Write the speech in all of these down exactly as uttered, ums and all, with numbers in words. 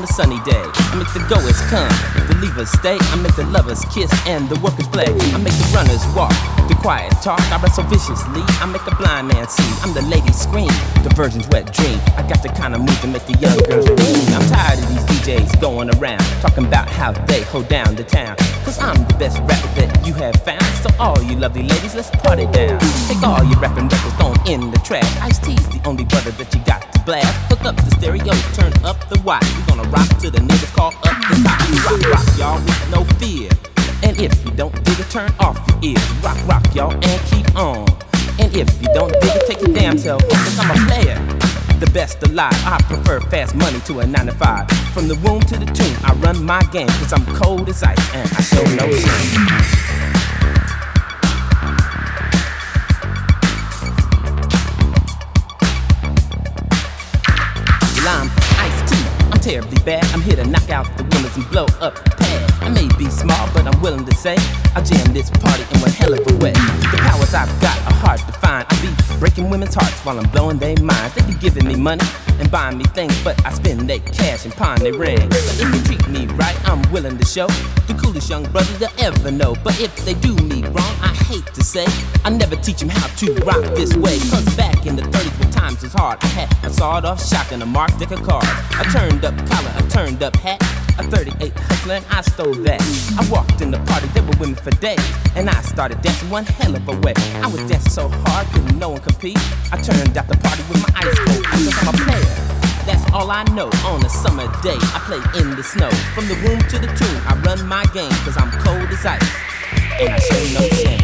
sunny day. I make the goers come, the leavers stay. I make the lovers kiss and the workers play. I make the runners walk, the quiet talk. I wrestle viciously, I make the blind man see. I'm the lady scream, the virgin's wet dream. I got the kind of move to make the young girls dream. I'm tired of these D Js going around talking about how they hold down the town. Cause I'm the best rapper that you have found. So all you lovely ladies, let's party down. Take all your rapping records, throw 'em in the trash. Ice-T's the only brother that you got to blast. Hook up the stereo, turn up the watch. We're gonna rock to the niggas, call up the top. Rock, rock, y'all, with no fear. And if you don't dig it, turn off your ears. Rock, rock, y'all, and keep on. And if you don't dig it, take your damn self off. Cause I'm a player, the best alive. I prefer fast money to a nine to five. From the womb to the tomb, I run my game. Cause I'm cold as ice and I show no shame. I'm Ice-T, I'm terribly bad. I'm here to knock out the winners and blow up the pad. I may be small, but I'm willing to say I jam this party in one hell of a way. The powers I've got are hard to find. I be breaking women's hearts while I'm blowing their minds. They be giving me money and buying me things, but I spend their cash and pawn their rings. But if you treat me right, I'm willing to show the coolest young brothers they'll ever know. But if they do me wrong, I hate to say I never teach them how to rock this way. Cause back in the thirties when times was hard, I had a sawed-off shotgun, a Mark Dick of cards, a turned-up collar, a turned-up hat, a thirty-eight hustler, and I stole that. I walked in the party, there were women for days, and I started dancing one hell of a way. I was dancing so hard, couldn't no one compete. I turned out the party with my ice cold, cause I'm a player. That's all I know. On a summer day, I play in the snow. From the womb to the tomb, I run my game, cause I'm cold as ice, and I show no shame.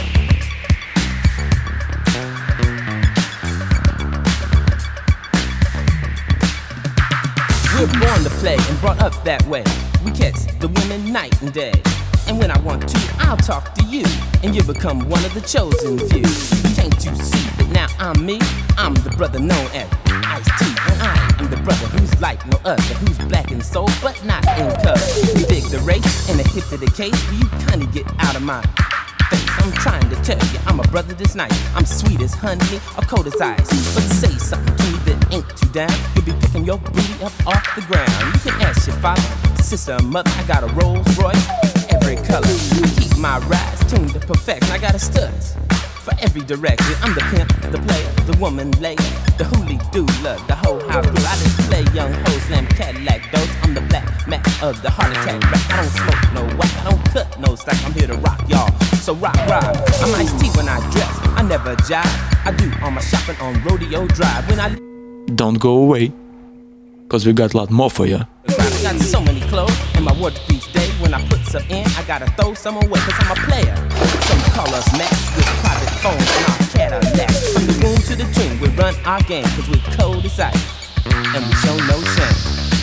We're born to play and brought up that way. We catch the women night and day. And when I want to, I'll talk to you, and you become one of the chosen few. Can't you see that now I'm me? I'm the brother known as Ice-T, and I am the brother who's like no other, who's black in soul but not in color. We dig the race and a hit to the case. Will you kindly get out of my face? I'm trying to tell you, I'm a brother that's nice. I'm sweet as honey or cold as ice. But say something to me that ain't too down. You'll be picking your booty up off the ground. You can ask your father, sister, or mother. I got a Rolls Royce, every color. I keep my rides tuned to perfection. I got a studs for every direction. I'm the pimp, the player, the woman lady, the hoolie doula, the whole house crew. I display young hoes, slam Cadillac doors. I'm the black Mac of the heart attack rap. I don't smoke no whack, I don't cut no slack. I'm here to rock y'all, so rock, rock. I'm Ice-T when I dress, I never jive. I do all my shopping on Rodeo Drive. When I don't go away, cause we got a lot more for you. I got so many clothes in my wardrobe each day. When I put some in, I gotta throw some away, cause I'm a player. Some call us Max with private phones and our Cadillac. From the womb to the tomb, we run our game, cause we're cold as ice, and we show no shame.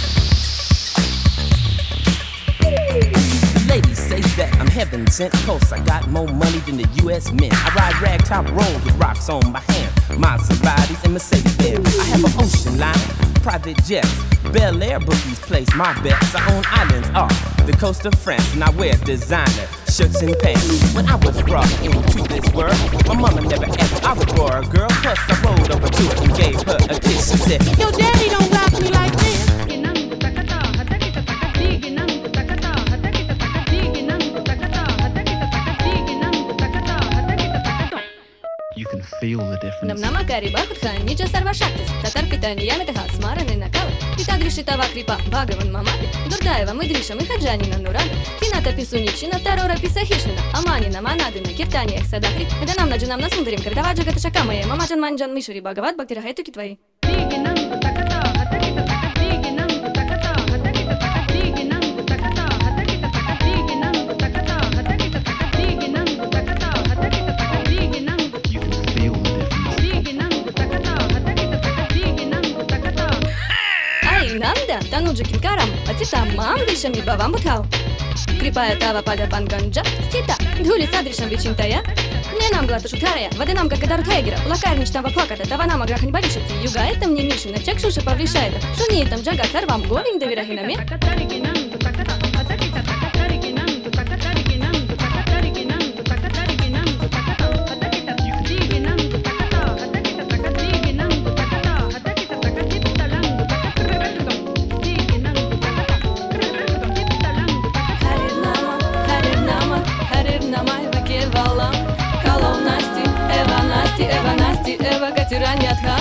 Ladies say that I'm heaven sent, cause I got more money than the U S Mint. I ride ragtop road with rocks on my hand, Maseratis and Mercedes-Benz. I have an ocean line, private jets, Bel Air bookies place my bets. I own islands off the coast of France, and I wear designer shirts and pants. When I was brought into this world, my mama never asked I was for a girl. Plus I rolled over to her and gave her a kiss. She said, "Your daddy don't rock me like this." You can feel the difference. Нам кари бахутхан, ничего сарвашактис. Татар питание ямитаха, смараны накалы. Пита грешитава крипа, багаван мамапи. Дурдаева, мы гриша, мы хаджанина нурага. Кината писуничина, тарора писахишнина. Аманина, манадина, киртаниях садахри. Это нам наджинам насундарим, кардаваджа гаташакамая. Мамаджан манджан мишури багават, бактирахайтуки твои. Тануджикин карам, а тита мам вишами бавам бутхау. Крипая тава пада банганджа, стита, дули садришам вичинтая. Не нам глата шутарая, воды нам как гадар тайгера, лакарнич там ваплаката, тава нам аграх не болишется. Юга это мне мишина, чек шуша поврешает. Шуни там джага царвам говин доверахинами. тиранят, ха?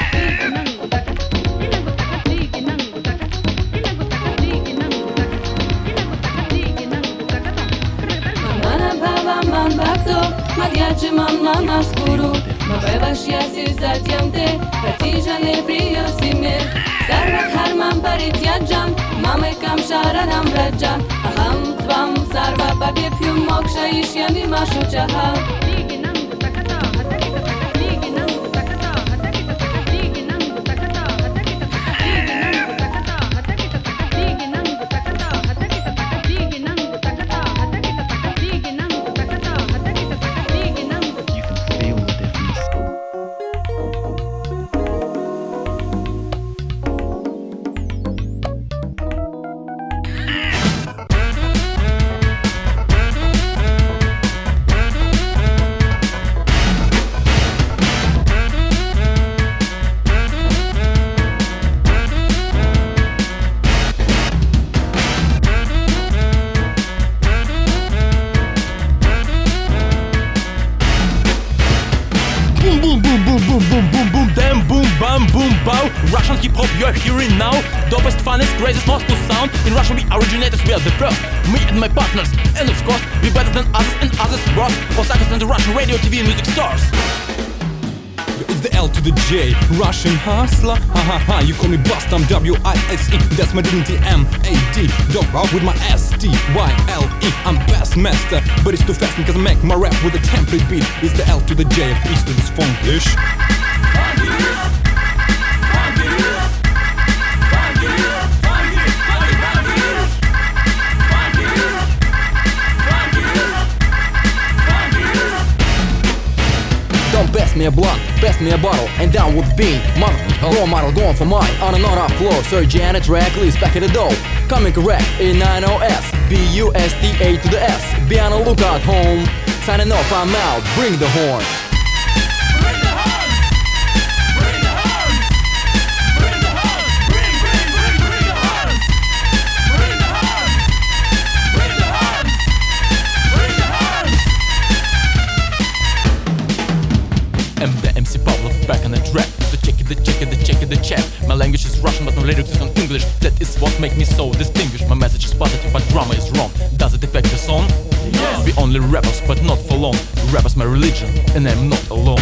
Maghiacci mamma na scuro, ma bevaš ja si zatjam te, Katiža ne prio si mir. Sarvat harman parit jadjam, mame kam sharanam raja, aham tvam sarva babjepju moksha ishyami mashu chaha. Russian hip-hop you're hearing now. Dopest, funnest, craziest Moscow sound. In Russia we originators, we are the first. Me and my partners, and of course we better than others and others bros. Osaka's and the Russian radio, T V and music stars. It's the L to the J, Russian hustler. Ha ha ha, you call me Bust, I'm W I S E. That's my dignity, M A D. Dog out with my S T Y L E. I'm best master, but it's too fast because I make my rap with a template beat. It's the L to the J of Eastern's funkish. Don't pass me a blunt, pass me a bottle, and down with the bean. Model, role model, going for mine. On and on our floor, Sergey and a track, Liz back at the door. Coming correct, A nine O S, B U S T A to the S. Be on a lookout home. Signing off, I'm out, bring the horn. Bring the horns! Bring the horns! Bring the horns! Bring, bring, bring, bring the horns! Bring the horns! Bring the horns! Bring the horns! M D M C Pavlov back on the track. So check it, the check it, the check it, the check. My language is Russian, but my lyrics is on English. That is what makes me so distinguished. My message is positive, but drama is wrong. Does it affect the song? Yes. We only rappers, but not for long. Rappers my religion, and I'm not alone.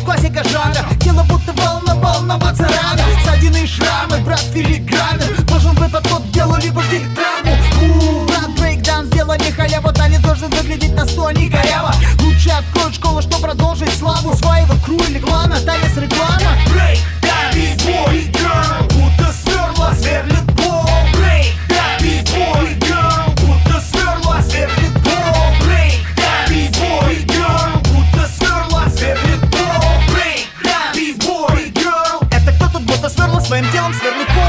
классика жанра. Тело будто волна, волноваться рано. Ссадины и шрамы, брат, филиграны. Должен быть подход к делу, либо жди травму. Ууу, брат, брейкдаун, сделай не халяву. Танец должен выглядеть на сто, не коряво. Лучше откроет школу, что продолжить славу своего кру или клана. Танец реклама. Брейкдаун, бибой, герл, будто сверла, сверлит пол. Брейкдаун, бибой, герл, будто сверла, сверлит пол. Брейкдаун, бибой, герл, будто сверла, сверлит пол. Брейкдаун, бибой, герл. Это кто тут будто сверла, своим телом сверлит пол.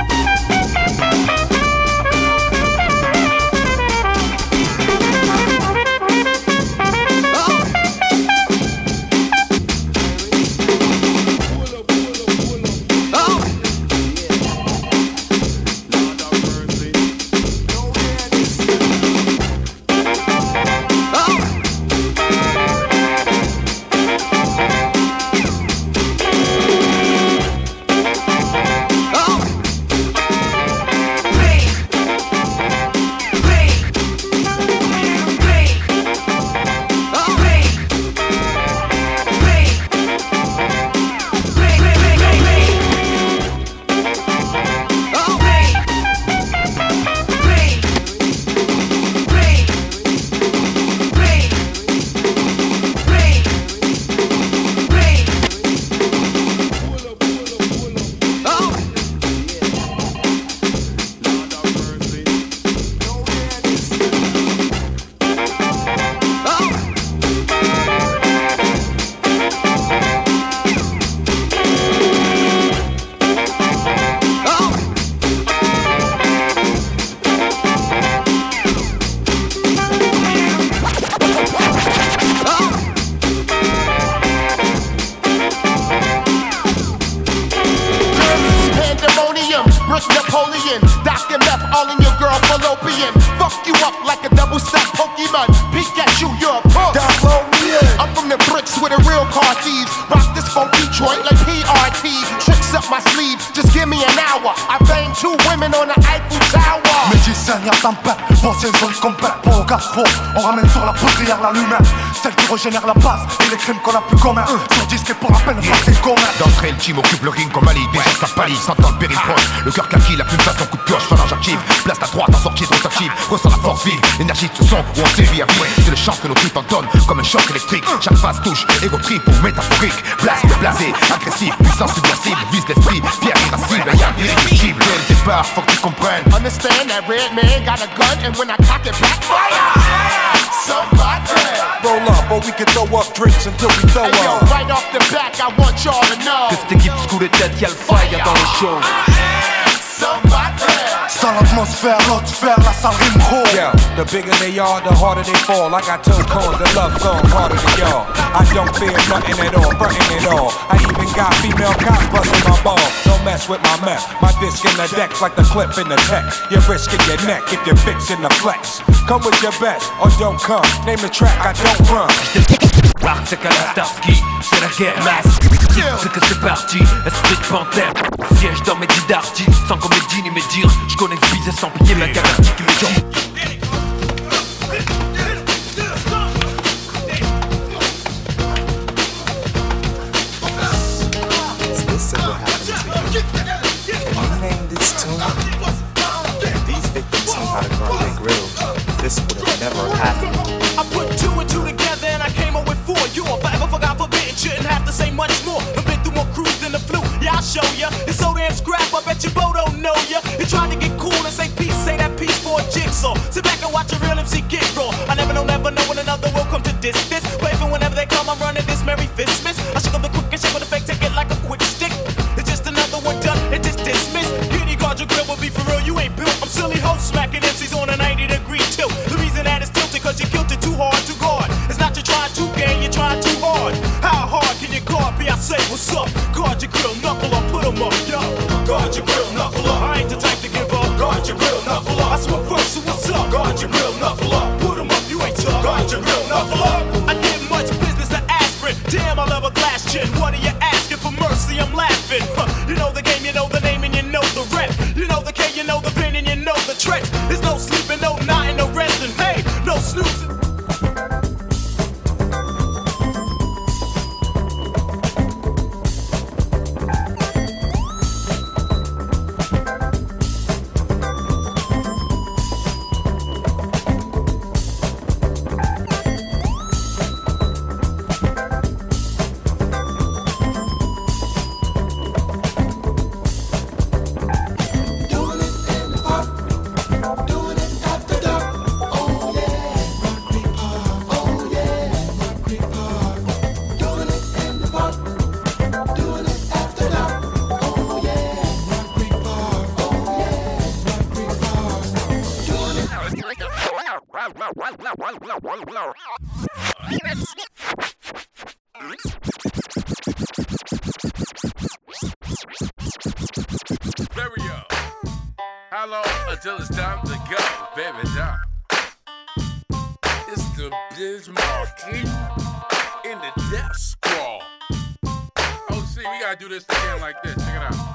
On ramène sur la poudrière la lumière, celle qui régénère la base et les crimes qu'on a plus communs. Sur disque et pour la peine, c'est commun. D'entrée, le team occupe le ring comme Ali. Déjà ça pâlit, s'entend le péril proche. Le cœur kaki, la plume façon coup de pioche, phalange active. Place ta droite, en sortie de rotative. Ressens la force vive, l'énergie de ce son où on sévit à vie. C'est le chant que nos tripes entonnent comme un choc électrique. Chaque phase touche, égo trip ou métaphorique. Blast, blasé, agressif, puissance subversible. Vise l'esprit, fier, irascible, y'a irréductible. Dès le départ, faut que tu comprennes. Understand that red man got a gun, and when I cock it back, fire! Somebody roll up, or we can throw up drinks until we throw hey, yo, up. Right off the back, I want y'all to know que cette équipe sous les têtes, y'a le fire dans le show. Somebody Sale atmosphère, l'atmosphère, la salle rime gros. Yeah, the bigger they are, the harder they fall. I got two cones that love song harder than y'all. I don't fear nothing at all, frontin' at all. I even got female cops bustin' my ball. Don't mess with my meth. My disc in the deck's like the clip in the text. You're risking your neck if you're fixing the flex. Come with your best or don't come. Name the track, I don't run. Rap, c'est qu'à la Starsky, c'est la guerre masse. C'est que c'est parti, esprit de panthère. Siège dans mes dix d'artistes, sans comédie ni médire. J'connais ce bise sans plier ma galactique qui me dit. This is what happened to you. Can you name this tune? If these victims knew how to guard their grills, this would have never happened. I put two and two together and I came up with four. You are forever forgot forbidden, shouldn't have to say much more. I've been through more crews than the flu, yeah I'll show ya. It's so damn scrap, I bet your Bo don't know ya. You're trying to get cool and say peace, say that peace for a jigsaw. Sit back and watch a real M C get raw. I never know, never know when another will come to diss this. But even whenever they come, I'm running this Merry Fistmas. I shake up the quick and shake up the fake, take it like a quick stick. It's just another one done, it just dismissed. Kitty guard your grill will be for real, you ain't built. I'm silly host smacking M Cs on a ninety degree tilt. The reason that it's tilted cause you killed it too hard to guard. It's not you're trying to gain, you're trying too hard. How hard can you guard me? I say what's up. Guard your grill, knuckle up, put 'em up, yo. Guard your grill, knuckle up. I ain't the type to give up. Guard your grill, knuckle up. I smoke first, so what's up? Guard your grill, knuckle up. Put 'em up, you ain't tough. Guard your grill, knuckle up. I get much business to aspirin. Damn, I love a glass chin. What are you asking? Stereo. How long until it's time to go, baby doll? It's the Biz Markie in the Death Squad. Oh, see, we gotta do this again like this. Check it out.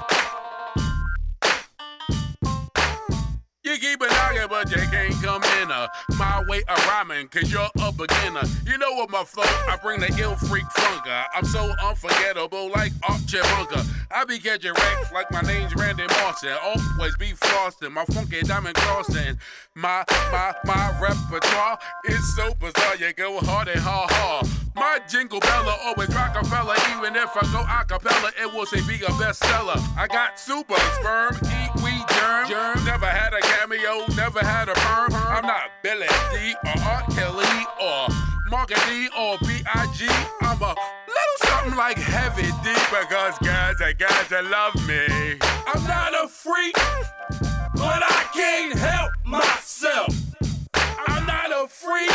You keep it knocking, but you can't come in uh, my way of rhyming, cause you're a beginner. You know what my flow, I bring the ill freak funker. I'm so unforgettable like Archie Bunker. I be catching wrecks like my name's Randy Martin. Always be flossing, my funky diamond crossing. My, my, my repertoire is so bizarre, you go hard and hard, hard. My jingle bella always Rockefeller, even if I go acapella, it will say be a bestseller. I got super sperm, eat weed germ, germ. Never had a cameo, never had a perm. I'm not Billy D or R. Kelly or Margaret D or B I G I'm a little something like Heavy D because guys and guys that love me. I'm not a freak, but I can't help myself. I'm not a freak,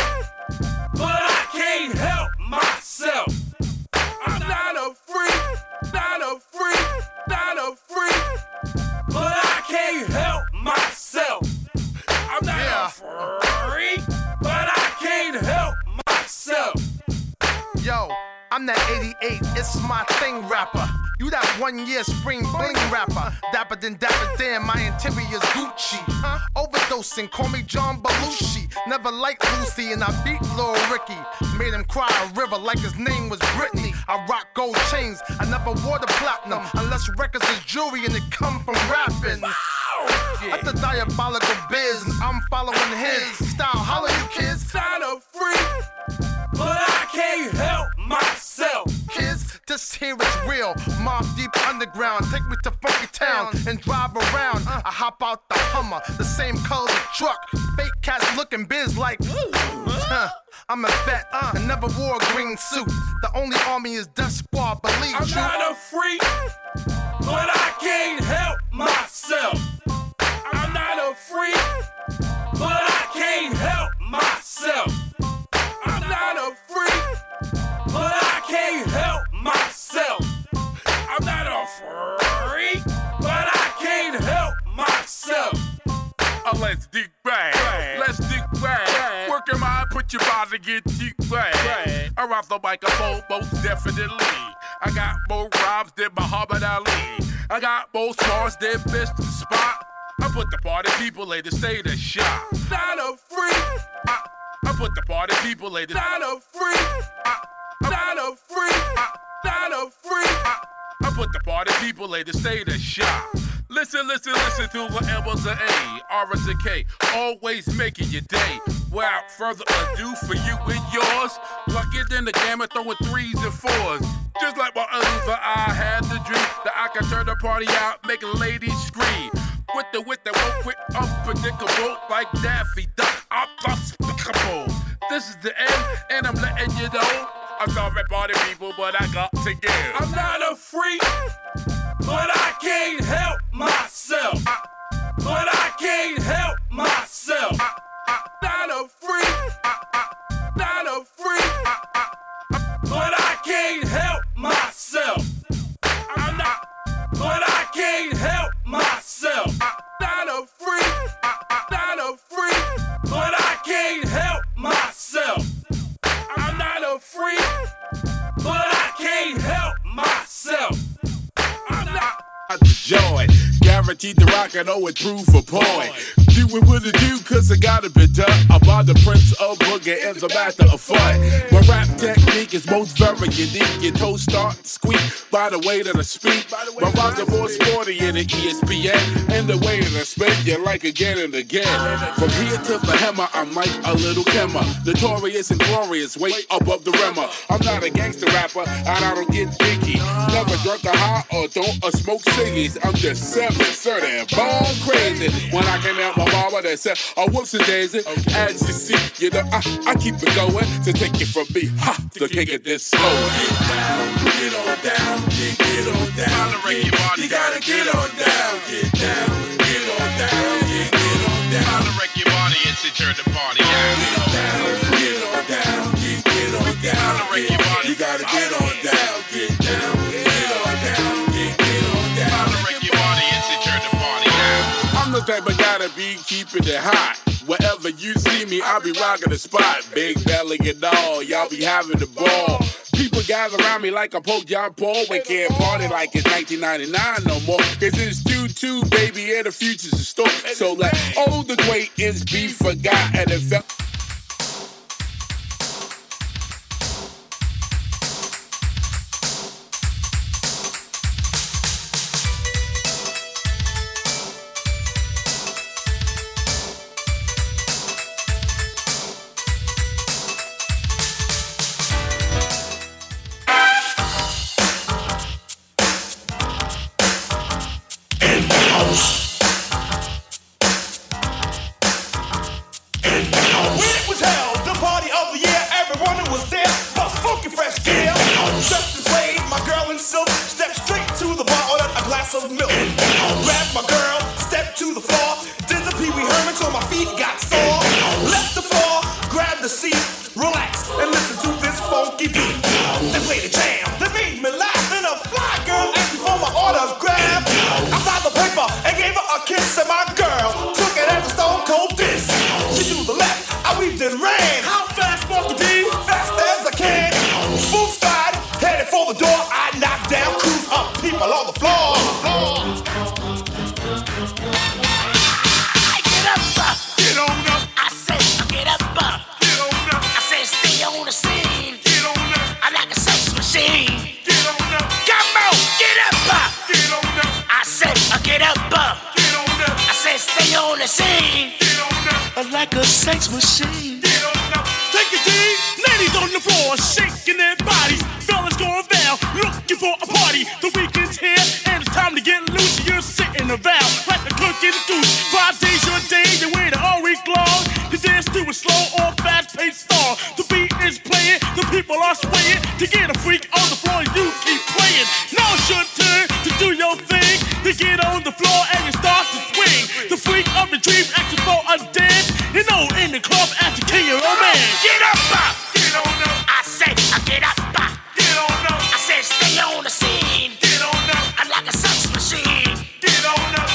but I can't help myself. I'm not a freak, not a freak, not a freak, but I can't help myself. I'm not yeah. a freak, but I can't help myself. Yo, I'm that eighty-eight, it's my thing rapper. You that one year spring bling rapper. Dapper than dapper, damn, my interior's Gucci. Huh? Overdosing, call me John Belushi. Never liked Lucy and I beat Lil Ricky. Made him cry a river like his name was Britney. I rock gold chains, I never wore the platinum. Unless records is jewelry and it come from rapping. Wow. Yeah. That's the diabolical biz, I'm following his style. Holla you kids. Not a freak, but I can't help myself. Kids, this here is real. Mob Deep Underground, take me to Funky Town and drive around. I hop out the Hummer, the same color the truck. Fake cats looking biz like, huh, I'm a vet, uh, and never wore a green suit. The only army is Death Squad, believe I'm you. not a freak, but I can't help myself. I'm not a freak, but I can't help myself. I'm not a freak, but I can't help myself. I'm not a freak, but I can't help myself. Uh, let's dig back, let's dig back. Work your mind, put your body, get deep back. I rock the microphone, most definitely. I got more rhymes than Muhammad Ali. I got more smarts than Mister Spot. I put the party people in the state of shock. Not a freak. I, I put the party people in the not a freak. I, not a freak. I, not a freak. I, I put the party people in the state of shock. Listen, listen, listen to the M was an A, R is a K, always making your day. Without further ado, for you and yours, luckier than the gamma throwing threes and fours. Just like my other, I had the dream that I could turn the party out, making ladies scream. With the with the work with unpredictable like Daffy Duck, I'm despicable. This is the end, and I'm letting you know. I'm sorry, party people, but I got to give. I'm not a freak, but I can't help myself. I, but I can't help myself. I, I, not a freak, I, I, not a freak, I, I, but I can't help myself. I'm not, but I can't help myself. I'm not a freak, I'm not a freak, but I can't help myself. I'm not a freak, but I can't help myself. I'm not the joy, guaranteed to rock and always prove a point. Do it with a do, cause I gotta be done. I'm on the Prince of Boogie and the master of fun. My rap technique is most very unique. Your toes start to squeak by the way that I speak. My rhymes are more sporty in the E S P N. And the way that I spit, you like again and again. From here to the hammer, I'm like a little Kemmer. Notorious and glorious, way above the rimmer. I'm not a gangster rapper, and I don't get picky. Never drunk a high or don't a smoke ciggies. I'm just seven thirty, born crazy. When I came out my mama, they said, oh, whoops and daisy. Okay. As you see, you know, I, I keep it going to take it from me, ha, to kick it this slow. Get down, get on down, get, get on down. Get, you gotta get on down, get down, get on down, get, get on down. Holla, wreck your body and sit here to party out. Get down, get type of gotta be keeping it hot. Wherever you see me, I'll be rocking the spot. Big belly and all, y'all be having the ball. People gather around me like a poke John Paul. We can't party like it's nineteen ninety-nine no more. Cause it's two two, baby, and the future's in store. So let old acquaintance be forgotten and felt. Like a sex machine. Take it deep. Ladies on the floor, shaking their bodies. Fellas going down, looking for a party. The weekend's here, and it's time to get loose. You're sitting around like a cook in the goose. Five days your day, they wait all week long. The dance to a slow or fast-paced song. The beat is playing, the people are swaying. To get a freak on the floor, you keep playing. Now it's your turn to do your thing. To get on the floor and you start to swing. The freak of your dreams asking for a dance. You know, in the club, as the king of romance. Get up, uh, get on up. I say, I get up, uh, get on up. I said, stay on the scene. Get on up. I'm like a sex machine. Get on up.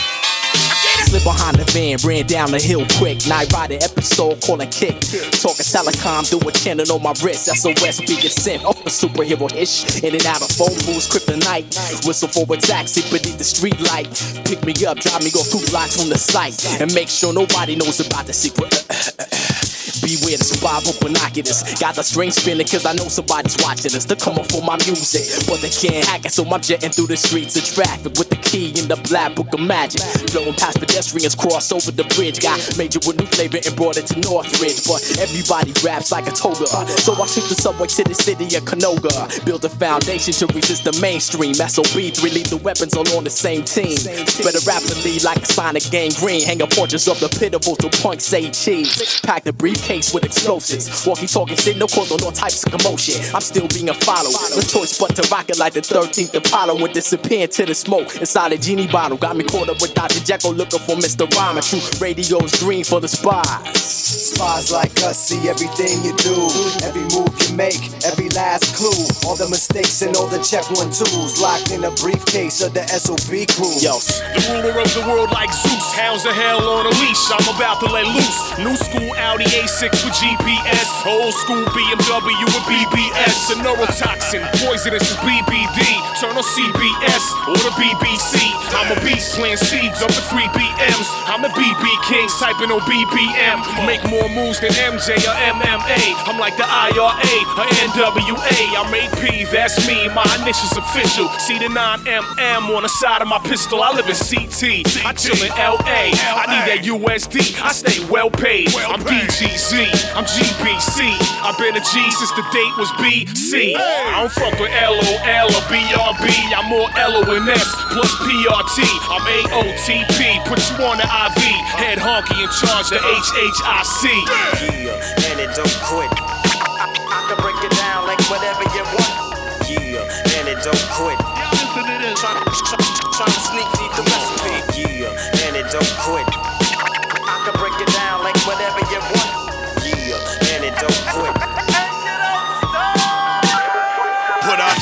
Slip behind the van, ran down the hill quick. Night rider episode, calling kick. Talking telecom, do a channel on my wrist. S O S being sent off a superhero ish. In and out of phone booths, kryptonite. Whistle for a taxi beneath the street light. Pick me up, drive me off two blocks from the site. And make sure nobody knows about the secret. Beware the spy with binoculars. Got the string spinning cause I know somebody's watching us. They're coming for my music, but they can't hack it. So I'm jetting through the streets of traffic with the key in the black book of magic. Flowing past pedestrians, cross over the bridge. Got major with new flavor and brought it to Northridge. But everybody raps like a toga. So I took the subway to the city of Canoga. Build a foundation to resist the mainstream. S O B three lethal weapons all on the same team. Spread it rapidly like a sonic gangrene. Hang up portraits of the pitiful to point say cheese. Pack the briefcase with explosives. Walkie talking shit, no cause on all types of commotion. I'm still being followed. No choice but to rock it like the thirteenth Apollo. And disappear into the smoke inside a genie bottle. Got me caught up with Doctor Jekyll looking for Mister Rhyme. True radio's green for the spies. Spies like us see everything you do, every move you make, every last clue. All the mistakes and all the check one twos locked in a briefcase of the S O B crew. Yo, the ruler of the world like Zeus, hounds of hell on a leash. I'm about to let loose. New school Audi A six with G P S, old school B M W with B B S. A neurotoxin, poisonous as B B D. Turn on C B S or the B B C. I'm a beast playing seeds up to three B Ms. I'm the B B Kings typing on B B M. Make more moves than M J or M M A. I'm like the I R A or N W A. I'm A P, that's me, my initials official. See the nine M M on the side of my pistol. I live in C T, I chill in L A. I need that U S D, I stay well paid. I'm B G Z, I'm G B C. I've been a G since the date was B C. I don't fuck with L O L or B R B. I'm more L O N S plus P R T. I'm A O T P, put you on the I V. Head honky in charge, the H H I C. Yeah, and it don't quit. I, I can break it down like whatever you want. Yeah, and it don't quit. Trying try, try to sneak deep the recipe. Yeah, and it don't quit. I can break it down like whatever you want. Yeah, and it don't quit. Put up.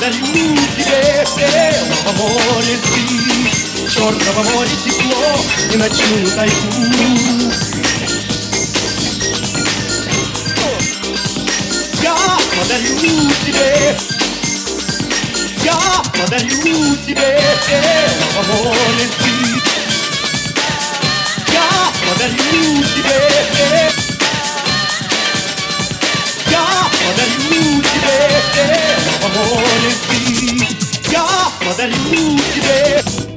подарю тебе белого моря ты, черного моря тепло и ночную тайгу. Я подарю тебе, я подарю тебе белого моря ты, я подарю тебе, я подарю тебе белого моря ты, я подарю тебе.